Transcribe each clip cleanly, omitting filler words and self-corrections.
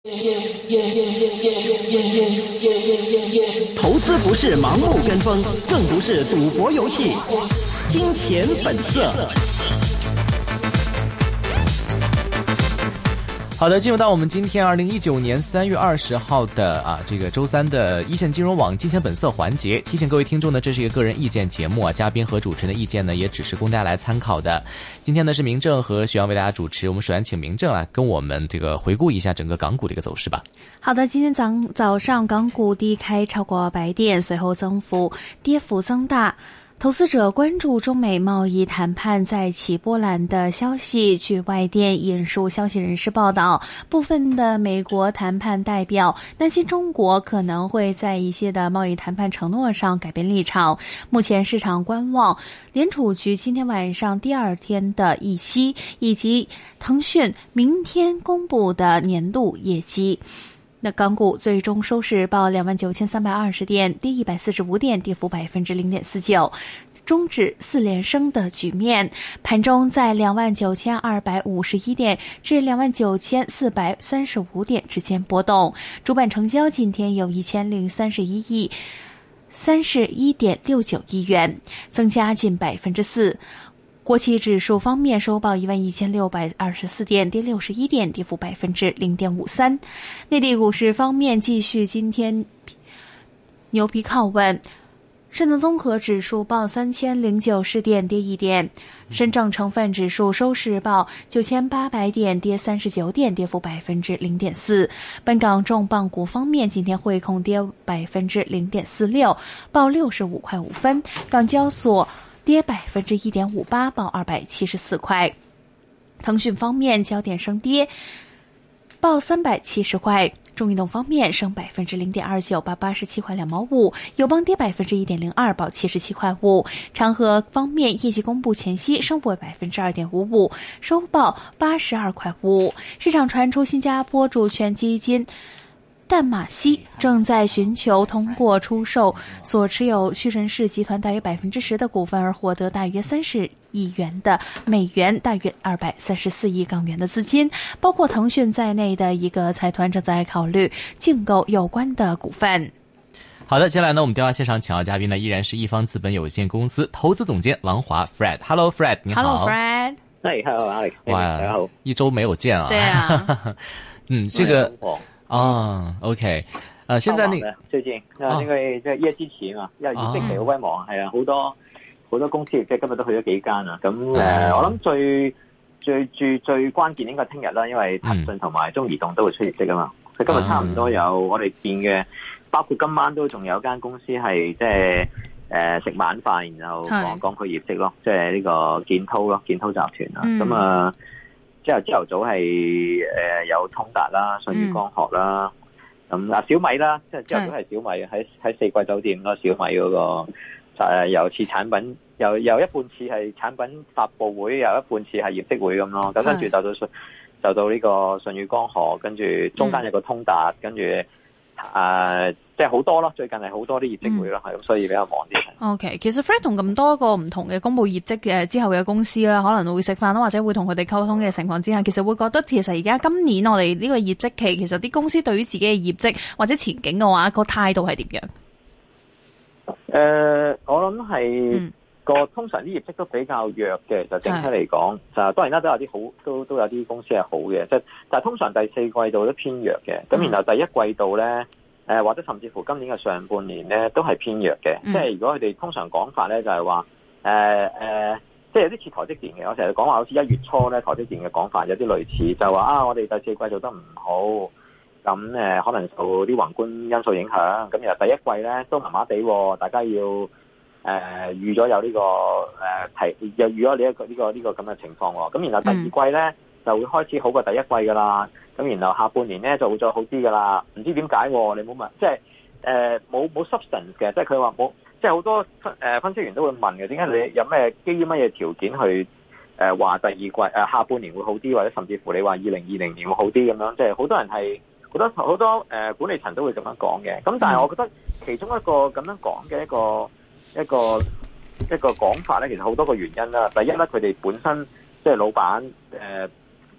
投资不是盲目跟风，更不是赌博游戏。金钱本色。好的，进入到我们今天2019年3月20号的这个周三的一线金融网金钱本色环节。提醒各位听众呢，这是一个个人意见节目嘉宾和主持人的意见呢，也只是供大家来参考的。今天呢是明正和许阳为大家主持，我们首先请明正来跟我们这个回顾一下整个港股的一个走势吧。 好的，今天早上港股低开超过100点，随后跌幅增大。投资者关注中美贸易谈判再起波澜的消息。据外电引述消息人士报道，部分的美国谈判代表担心中国可能会在一些的贸易谈判承诺上改变立场。目前市场观望联储局今天晚上第二天的议息，以及腾讯明天公布的年度业绩。那港股最终收市报29,320点，跌145点，跌幅0.49%，终止4连升的局面。盘中在29,251点至29,435点之间波动。主板成交今天有1031.69亿元，增加近4%。国企指数方面收报11,624点，跌61点，跌幅0.53%。内地股市方面继续今天牛皮靠稳，深圳综合指数报3090点，跌1点；深证成分指数收市报9800点，跌39点，跌幅0.4%。本港重磅股方面，今天汇控跌0.46%，报65块5分；港交所跌1.58%，报274块。腾讯方面焦点升跌，报370块。中移动方面升0.29%，报87块2毛5；友邦跌1.02%，报77块5。长和方面业绩公布前夕升幅为2.55%，收报82块5。市场传出新加坡主权基金淡马锡正在寻求通过出售所持有屈臣氏集团大约10%的股份而获得大约30亿元的美元，大约234亿港元的资金，包括腾讯在内的一个财团正在考虑竞购有关的股份。 好的，接下来呢，我们电话线上请到嘉宾呢，依然是一方资本有限公司投资总监王华 Fred。Hello Fred， 你好。 Hello Fred。 Hello Alex。 哇，大家好，一周没有见啊。 对啊。 这个。OK， 现在最近因為即係業績期嘛，因為業績期好鬼忙，係啊，好多公司即係今日都去咗幾間啊。咁我諗最關鍵應該聽日啦，因為騰訊同埋中移動都會出業績啊嘛。佢今日差唔多有我哋見嘅，包括今晚都仲有間公司係即係食晚飯，然後講佢業績咯，即係呢個建滔咯，建滔集團啦。咁朝頭早係有通達啦、舜宇光學啦，咁小米啦，即係朝頭早係小米喺四季酒店咯，小米嗰個又似產品，又一半似係產品發佈會，又一半似係業績會咁咯。咁跟住就到呢個舜宇光學，跟住中間有個通達，跟住即係好多咯，最近係好多啲業績會咯，係咁，所以比較忙啲。 OK， 其實 Fred 同咁多個唔同嘅公布業績嘅之後嘅公司啦，可能會食飯啦，或者會同佢哋溝通嘅情況之下，其實會覺得其實而家今年我哋呢個業績期，其實啲公司對於自己嘅業績或者前景嘅話，個態度係點樣？我諗係通常啲業績都比較弱嘅，就整體嚟講，就當然啦，都有啲好，都有啲公司係好嘅，即係但係通常第四季度都偏弱嘅，咁然後第一季度咧。或者甚至乎今年嘅上半年咧都係偏弱嘅，即係如果佢哋通常講法咧就係話即係有啲似台積電嘅，我成日講話好似1月初咧台積電嘅講法有啲類似，就話我哋第四季做得唔好，咁可能受啲宏觀因素影響，咁然後第一季咧都麻麻地，大家要預咗有呢個又預咗呢個咁嘅情況喎，咁然後第二季咧就會開始好過第一季㗎啦。咁然後下半年咧就會再好啲噶啦，唔知點解你冇問，即係冇 substance 嘅，即係佢話冇，即係好多分析員都會問嘅，點解你有咩基於乜嘢條件去話第二季下半年會好啲，或者甚至乎你話2020年會好啲咁樣，即係好多人係好多管理層都會咁樣講嘅。咁但係我覺得其中一個咁樣講嘅一個講法咧，其實好多個原因啦。第一咧，佢哋本身即係老闆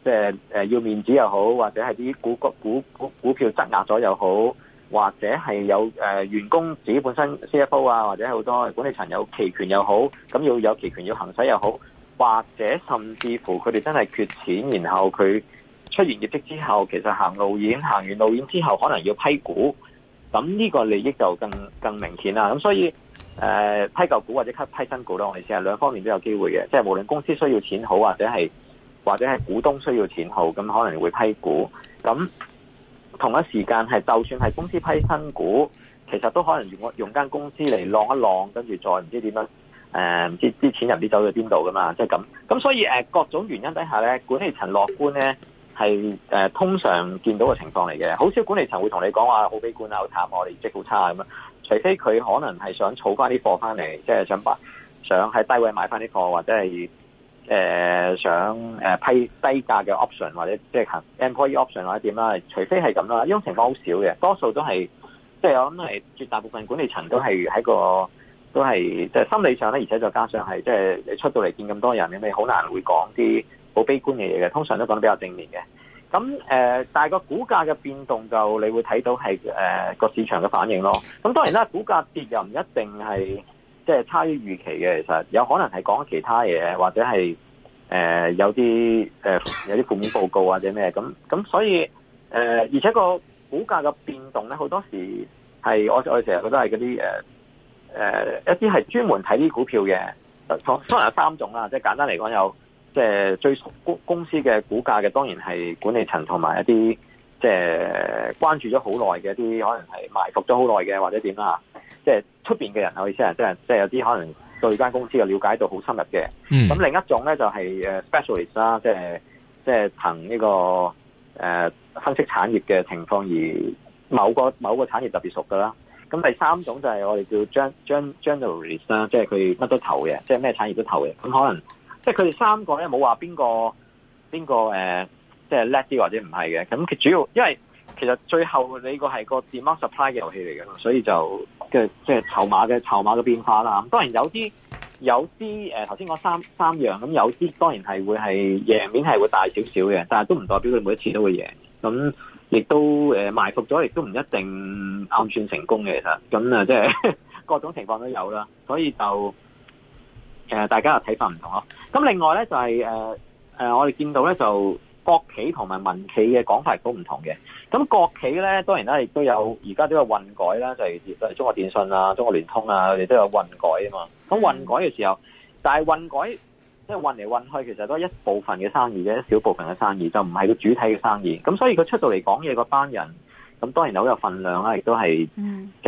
即係要面子又好，或者係啲股票質押咗又好，或者係有員工自己本身 CFO 啊，或者好多管理層有期權又好，咁要有期權要行使又好，或者甚至乎佢哋真係缺錢，然後佢出完業績之後，其實行完路演之後，可能要批股，咁呢個利益就更明顯啦。咁所以批舊股或者批新股咯，我哋成日兩方面都有機會嘅，即係無論公司需要錢好，或者係股東需要錢好，咁可能會批股。咁同一時間係就算係公司批新股，其實都可能用間公司嚟晾一晾，跟住再唔知點樣唔知啲錢唔知走咗邊度噶嘛，即係咁。咁所以各種原因底下咧，管理層樂觀咧係通常見到嘅情況嚟嘅。好少管理層會同你講話好悲觀啊、好慘，我哋業績好差咁樣。除非佢可能係想儲翻啲貨翻嚟，即係想喺低位買翻啲貨，或者係想批低價嘅 option， 或者即係 employee option 或者點啦。除非係咁啦，呢種情況好少嘅，多數都係即係我諗係絕大部分管理層都係都係即係心理上咧，而且再加上係即係你出到嚟見咁多人，你好難會講啲好悲觀嘅嘢嘅，通常都講得比較正面嘅。咁但係個股價嘅變動就你會睇到係個市場嘅反應咯。咁當然啦，股價跌又唔一定係即係差於預期嘅，其實有可能係講其他嘢，或者係有啲負面報告或者咩咁所以而且個股價嘅變動咧，好多時係我成日覺得係嗰啲一啲係專門睇啲股票嘅，可能有三種啦，即係簡單嚟講有。即係最熟公司嘅股價嘅，當然係管理層同埋一啲即係關注咗好耐嘅一啲，可能係埋伏咗好耐嘅，或者點啦。即係出邊嘅人，我意思係即係有啲可能對間公司嘅了解度好深入嘅。咁另一種咧就係 specialist 啦，即係憑呢個分析產業嘅情況而某個產業特別熟噶啦。咁第三種就係我哋叫 generalist 啦，即係佢乜都投嘅，即係咩產業都投嘅。咁可能。即係佢哋三個咧，冇話邊個即係叻啲或者唔係嘅。咁佢主要，因為其實最後你個係個 demand supply 嘅遊戲嚟嘅，所以就即係籌碼嘅變化啦。咁當然有啲頭先講三樣，咁有啲當然係會係贏面係會大少少嘅，但係都唔代表佢每一次都會贏。咁亦都埋伏咗，亦都唔一定暗算成功嘅。其實咁即係各種情況都有啦，所以就。大家嘅睇法唔同咯。咁另外咧就係我哋見到咧就國企同埋民企嘅講法都唔同嘅。咁國企咧當然啦，亦都有而家都有混改啦，就係中國電信啊、中國聯通啊，佢哋都有混改啊嘛。咁混改嘅時候，但係混改即係混嚟混去，其實都係一部分嘅生意啫，一小部分嘅生意，就唔係個主體嘅生意。咁所以佢出到嚟講嘢嗰班人，咁當然好有份量啦，亦都係即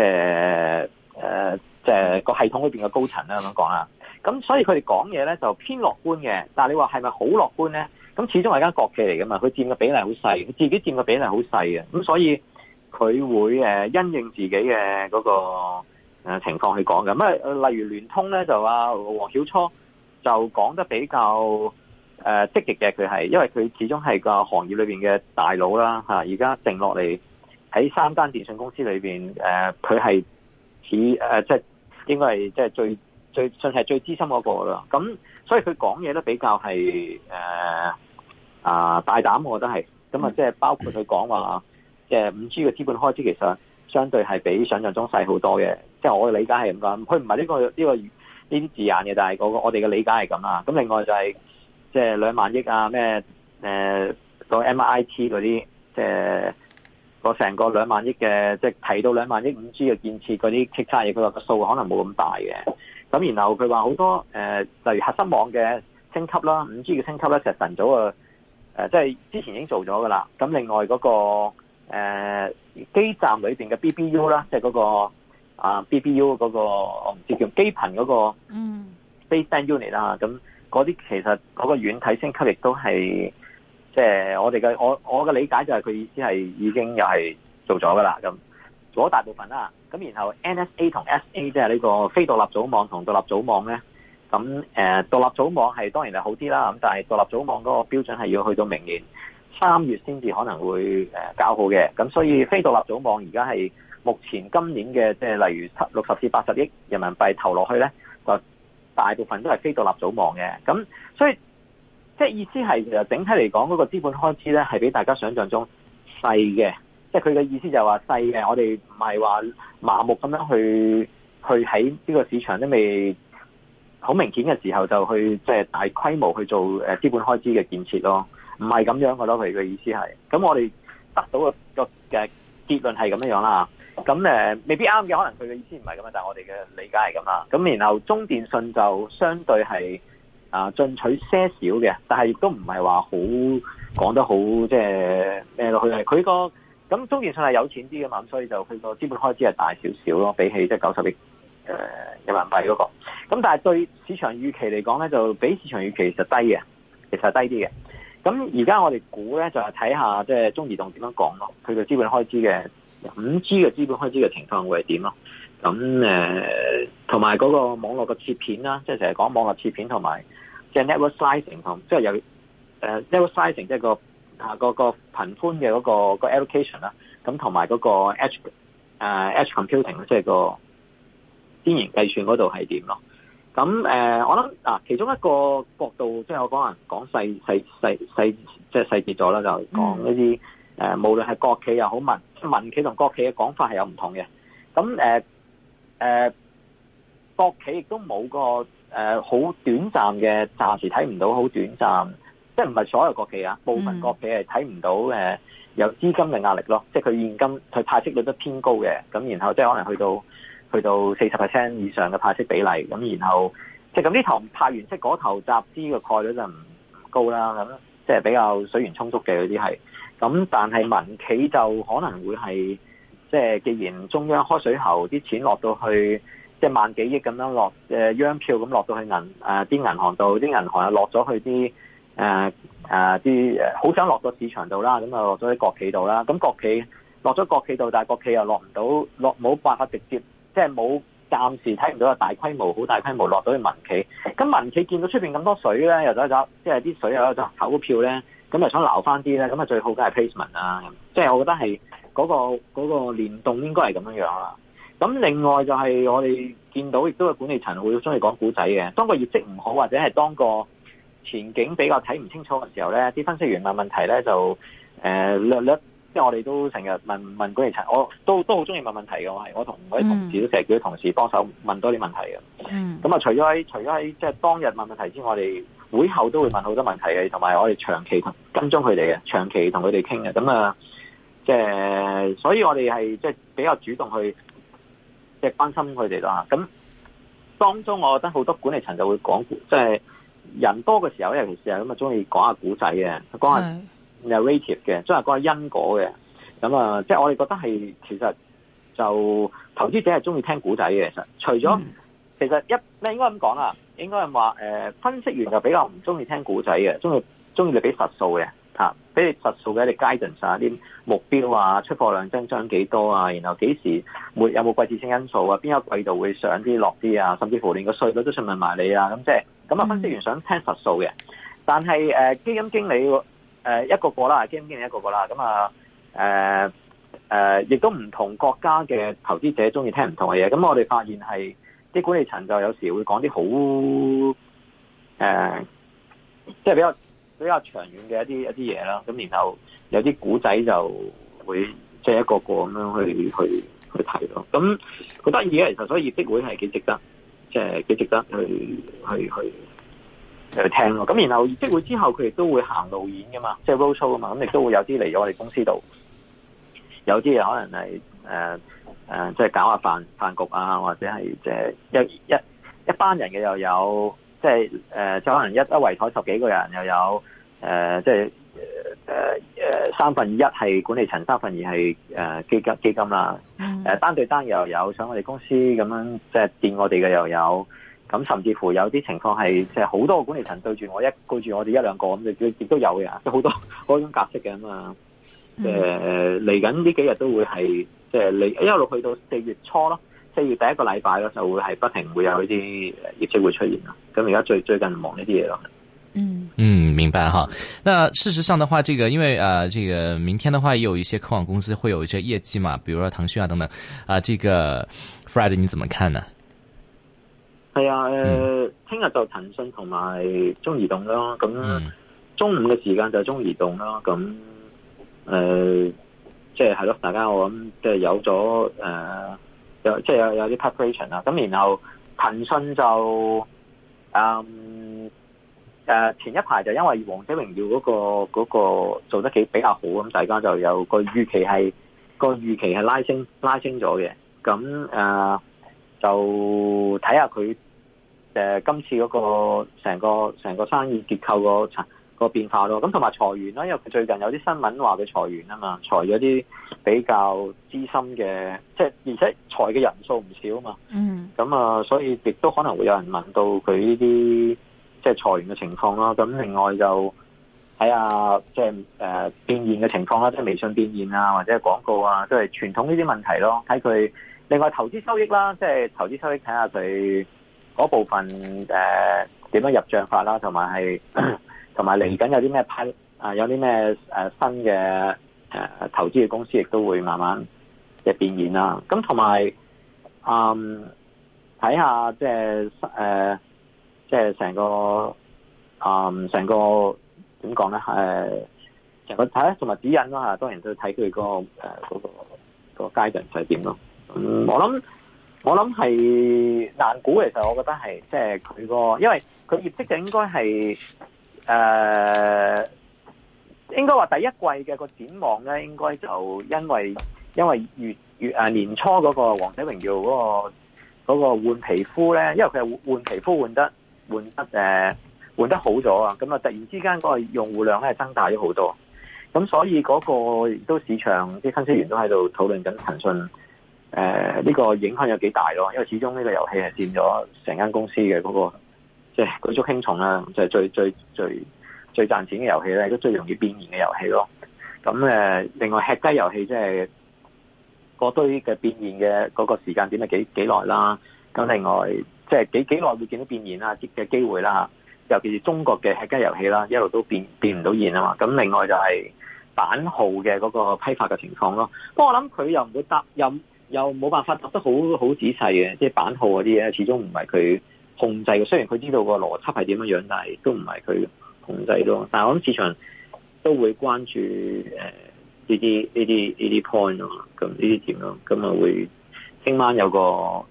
係個系統裏邊嘅高層啦咁樣講啦。咁所以佢哋講嘢咧就偏樂觀嘅，但係你話係咪好樂觀咧？咁始終係間國企嚟噶嘛，佢佔嘅比例好細，佢自己佔嘅比例好細嘅，咁所以佢會因應自己嘅嗰個情況去講嘅。咁例如聯通咧就話黃曉初就講得比較積極嘅，佢係因為佢始終係個行業裏邊嘅大佬啦嚇，而家定落嚟喺三間電信公司裏邊佢係似即係應該係即係算係最資深嗰個啦，咁所以佢講嘢都比較係大膽，我覺得係咁啊，即係包括佢講話，即係 5G 嘅資本開支其實相對係比想象中細好多嘅，即係我嘅理解係咁講，佢唔係呢啲字眼嘅，但係我哋嘅理解係咁啦。咁另外就係即係2萬億啊，咩個 MIT 嗰啲，即係個成個2萬億嘅，即係提到2萬億 5G 嘅建設嗰啲其他嘢，佢話個數可能冇咁大嘅。咁然後佢話好多例如核心網嘅升級啦，5G 嘅升級咧，其實晨早即係之前已經做咗噶啦。咁另外嗰個基站裏邊嘅 BBU 啦，即係嗰個BBU 嗰個我唔知叫基頻嗰個baseband unit 啦。咁嗰啲其實嗰個軟體升級亦都係即係我嘅理解就係佢意思係已經又係做咗噶啦，咁做咗大部分啦。咁然後 NSA 同 SA 即係呢個非獨立組網同獨立組網咧，咁獨立組網係當然係好啲啦，咁但係獨立組網嗰個標準係要去到明年3月先至可能會搞好嘅，咁所以非獨立組網而家係目前今年嘅即係例如60至80億人民幣投落去咧，就大部分都係非獨立組網嘅，咁所以即係意思係其實整體嚟講嗰個資本開支咧係比大家想象中細嘅，即係佢嘅意思就係話細嘅，我哋唔係話麻木咁樣去喺呢個市場都未好明顯嘅時候就去即係大規模去做資本開支嘅建設咯，唔係咁樣嘅咯，佢嘅意思係，咁我哋得到個嘅結論係咁樣啦。咁未必啱嘅，可能佢嘅意思唔係咁樣，但係我哋嘅理解係咁啦。咁然後中電信就相對係進取些少嘅，但係亦都唔係話好講得好即係咩落去係佢個咁中電信係有錢啲嘅嘛，咁所以就佢個資本開支係大少少咯，比起即係90億人民幣嗰個。咁但係對市場預期嚟講咧，就比市場預期其實低嘅，其實係低啲嘅。咁而家我哋估咧就係睇下即係中移動點樣講咯，佢嘅資本開支嘅。5G 嘅資本開支嘅情況會係點咯？咁同埋嗰個網絡嘅切片啦，即係成日講網絡切片同埋即係 network slicing 同即係有network slicing 即係個頻寬嘅嗰個 allocation 啦，咁同埋嗰個 edge computing 即係個邊緣計算嗰度係點咯？咁我諗其中一個角度即係我講細即係細節咗啦，就講呢啲。無論係國企又好民企同國企嘅講法係有唔同嘅，咁國企亦都冇個好短暫嘅，暫時睇唔到好短暫，即係唔係所有國企啊，部分國企係睇唔到有資金嘅壓力咯，即係佢現金佢派息率都偏高嘅，咁然後即係可能去到40% 以上嘅派息比例，咁然後即係咁呢頭派完息嗰頭集資嘅概率就唔高啦，咁即係比較水源充足嘅嗰啲係。咁但係民企就可能會係即係既然中央開水喉，啲錢落到去即係萬幾億咁樣落央票咁落到去啲銀行度，啲銀行又落咗去啲好想落到市場度啦，咁啊落咗啲國企度啦，咁國企落咗國企度，但係國企又冇辦法直接即係冇暫時睇唔到有好大規模落到去民企，咁民企見到出邊咁多水咧，又走即係啲水又走投票咧。咁就想撈翻啲咧，咁啊最好梗係 placement 啦，即係我覺得係嗰個聯動應該係咁樣樣啦。咁另外就係我哋見到亦都有管理層會中意講古仔嘅，當個業績唔好或者係當個前景比較睇唔清楚嘅時候咧，啲分析員問問題咧就略，即係我哋都成日問管理層，我都好中意問問題嘅，我同我啲同事都成日叫啲同事幫手問多啲問題嘅。咁啊，除咗喺即係當日問問題之外，我哋會後都會問好多問題嘅，同埋我哋長期跟蹤佢哋嘅，長期同佢哋傾嘅。咁啊，即係所以我哋係即係比較主動去即係關心佢哋啦。咁當中我覺得好多管理層就會講，即係人多嘅時候，尤其是係咁啊，中意講下古仔嘅，講下 narrative 嘅，即係講下因果嘅。咁啊，即係我哋覺得係其實就投資者係中意聽古仔嘅。其實除咗其實你應該咁講啦。應該係話分析員就比較唔中意聽古仔嘅，中意你俾實數嘅嚇，俾你實數嘅，你 guidance 啊，啲目標啊，出貨量增長幾多啊，然後幾時有冇季節性因素啊，邊一個季度會上啲落啲啊，甚至乎連個稅率都詢問埋你啊，咁即係咁啊，分析員想聽實數嘅，但係基金經理一個個啦，基金經理一個個啦，咁亦都唔同國家嘅投資者中意聽唔同嘅嘢，咁我哋發現係。啲管理層就有時會講啲好即係比較長遠嘅一啲嘢啦。咁然後有啲古仔就會即係一個個咁樣去睇咯。咁好得意嘅，其實所以業績會係幾值得，即係幾值得去聽咯。咁然後業績會之後，佢亦都會行路演噶嘛，即係 road show 啊嘛。咁亦都會有啲嚟咗我哋公司度，有啲嘢可能係即係搞下飯局啊，或者係即係一班人嘅又有，即係即係可能一圍台10幾個人又有，即係2/3係管理層，2/3係基金啦，單對單又有上我哋公司咁樣，即係見我哋嘅又有，咁甚至乎有啲情況係即係好多個管理層對住我哋一兩個咁，亦都有嘅，即係好多嗰種格式嘅嘛。嚟緊呢幾日都會係即係一路去到4月初咯，4月第一個禮拜咯，就會係不停會有呢啲業績會出現啦。咁而家最近忙呢啲嘢咯。 明白哈。那事實上的話，這個因為這個明天的話，也有一些科網公司會有一些業績嘛，比如說騰訊啊等等這個 Fred 你怎麼看呢？ 係啊，聽日就騰訊同埋中移動咯，咁中午嘅時間就係中移動啦。咁即係咯，大家我諗即係有咗有即係有啲 preparation 啦。咁然後騰訊就前一排就因為王者榮耀嗰個做得比較好，咁大家就有個預期係拉升咗嘅。咁就睇下佢今次嗰個成個生意結構個變化咯。咁同埋裁員啦，因為佢最近有啲新聞話佢裁員啊嘛，裁咗啲比較資深嘅，即係而且裁嘅人數唔少啊嘛。咁所以亦都可能會有人問到佢呢啲即係裁員嘅情況啦。咁另外就睇下即係變現嘅情況啦，即係微信變現啊，或者係廣告啊，即係傳統呢啲問題咯。睇佢另外投資收益啦，即係投資收益睇下佢嗰部分點樣入帳法啦，同埋嚟緊有啲咩有啲咩新嘅投資嘅公司亦都會慢慢嘅變現啦。咁同埋睇下即係成個點講咧？成個睇同埋指引啦嚇，當然都睇佢嗰個階段就係點咯。我諗係難估，其實我覺得係即係佢因為佢業績就應該係應該話第一季嘅個展望咧，應該就因為年初嗰個王者榮耀嗰個換皮膚咧，因為佢係換皮膚換得好咗啊，咁啊突然之間嗰個用戶量咧係增大咗好多，咁所以嗰個亦都市場啲分析員都喺度討論緊騰訊呢個影響有幾大咯，因為始終呢個遊戲係佔咗成間公司嘅嗰個即係舉足輕重啦，就係最賺錢嘅遊戲咧，都最容易變現嘅遊戲咯。咁另外吃雞遊戲即係嗰堆嘅變現嘅嗰個時間點係幾耐啦。咁另外即係幾耐會見到變現啦嘅機會啦，尤其是中國嘅吃雞遊戲啦，一路都變唔到現啊嘛。咁另外就係版號嘅嗰個批發嘅情況咯。不過我諗佢又唔會答又冇辦法答得好仔細嘅，即係版號嗰啲嘢始終唔係佢控制嘅。雖然佢知道個邏輯係點樣樣，但係都唔係佢控制咯。但係我諗市場都會關注呢啲 point 咯，咁呢啲點咯，咁啊會聽晚有個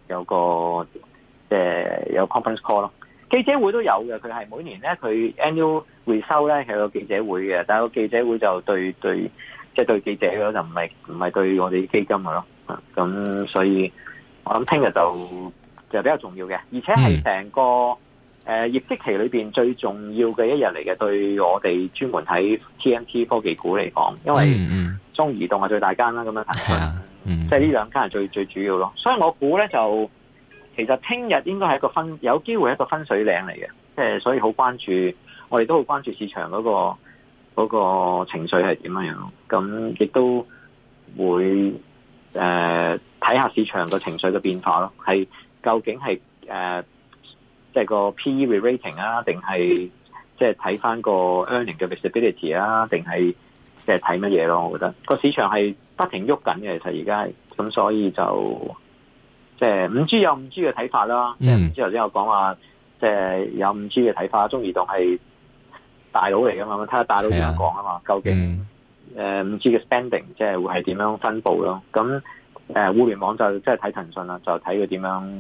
有 conference call 咯，記者會都有嘅。佢係每年咧佢 annual 回收咧係有個記者會嘅，但係個記者會就對記者咯，就唔係對我哋基金嘅咯。咁所以我諗聽日就比較重要嘅，而且係成個業績期裏邊最重要嘅一日嚟嘅，對我哋專門睇 TMT 科技股嚟講，因為中移動係最大間啦，咁樣騰訊，即係呢兩間係最主要咯。所以我估咧就其實聽日應該係一個有機會係一個分水嶺嚟嘅，即係所以好關注，我哋都好關注市場嗰個情緒係點樣樣，咁亦都會睇下市場個情緒嘅變化咯，係究竟係即係個 PE re-rating 啊，定係即係睇翻個 earning 嘅 visibility 啊，定係即係睇乜嘢咯？我覺得個市場係不停喐緊嘅，其實而家咁，所以就即係 5G 有 5G 嘅睇法啦。即係 5G 頭先有講話，即係有 5G 嘅睇法，中移動係大佬嚟噶嘛？睇下大佬點樣講啊嘛？究竟5G 嘅 spending 即係會係點樣分佈咯？咁互聯網就即係睇騰訊啦，就睇佢點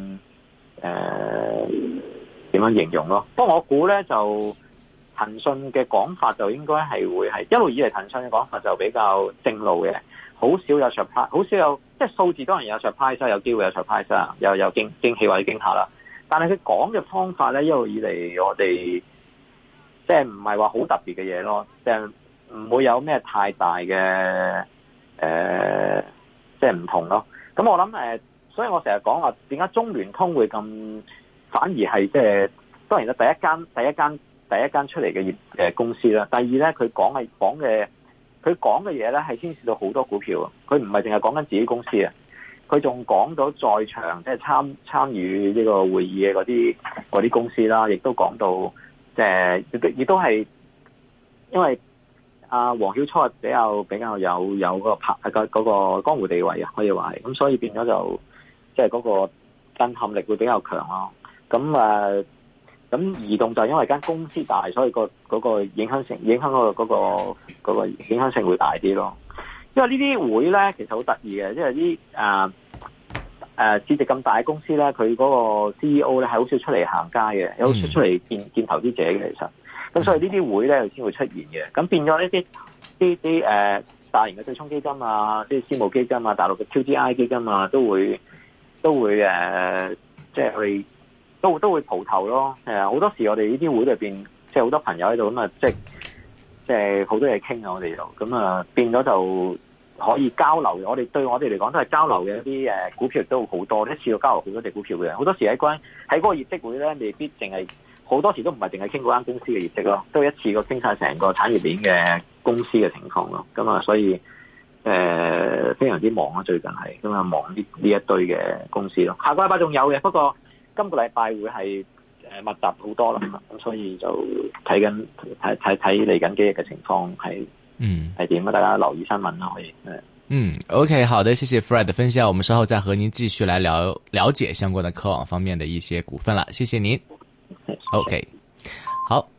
樣形容咯。不過我估咧就騰訊嘅講法就應該係會係一路以嚟騰訊嘅講法就比較正路嘅，好少有 surprise， 好少有即係數字當然有 surprise， 有機會有 surprise 啊，有驚喜或者驚嚇啦。但係佢講嘅方法咧，一路以嚟我哋即係唔係話好特別嘅嘢咯，即係唔會有咩太大嘅即係唔同咯。咁我諗所以我成日講話點解中聯通會咁反而係即係當然啦，第一間出嚟嘅公司啦。第二咧，佢講嘅嘢咧係牽涉到好多股票，佢唔係淨係講緊自己公司啊，佢仲講到在場即係參與呢個會議嘅嗰啲公司啦，亦都講到即係亦都係因為黃曉初比較有個嗰個江湖地位啊，可以話係咁，所以變咗就即係嗰個震撼力會比較強咯。咁咁移動就因為間公司大，所以嗰個影響性會大啲咯。因為呢啲會咧其實好得意嘅，因為啲市值咁大嘅公司咧，佢嗰個 CEO 咧係好少出嚟行街嘅，有好少出嚟見投資者嘅其實。咁所以呢啲會咧先會出現嘅。咁變咗呢啲大型嘅對沖基金啊，啲私募基金啊，大陸嘅 QDII 基金啊，都會即係去都會蒲頭咯。好多時我哋呢啲會裏邊，即係好多朋友喺度咁啊，即係好多嘢傾啊，我哋就咁啊，變咗就可以交流。對我哋嚟講都係交流嘅一啲股票亦都好多，一次過交流好多隻股票嘅。好多時喺嗰個業績會咧，未必淨係好多時都唔係淨係傾嗰間公司嘅業績咯，都一次過傾晒成個產業鏈嘅公司嘅情況咯。咁啊，所以非常之忙啊，最近係咁啊，忙呢一堆嘅公司咯。下個禮拜仲有嘅，不過今個禮拜會係密集好多啦。咁所以就睇嚟緊幾日嘅情況係點啊？大家留意新聞啦，可以。 OK， 好的，謝謝 Fred 的分享，我們稍後再和您繼續來了解相關的科網方面的一些股份啦。謝謝您。OK， 好。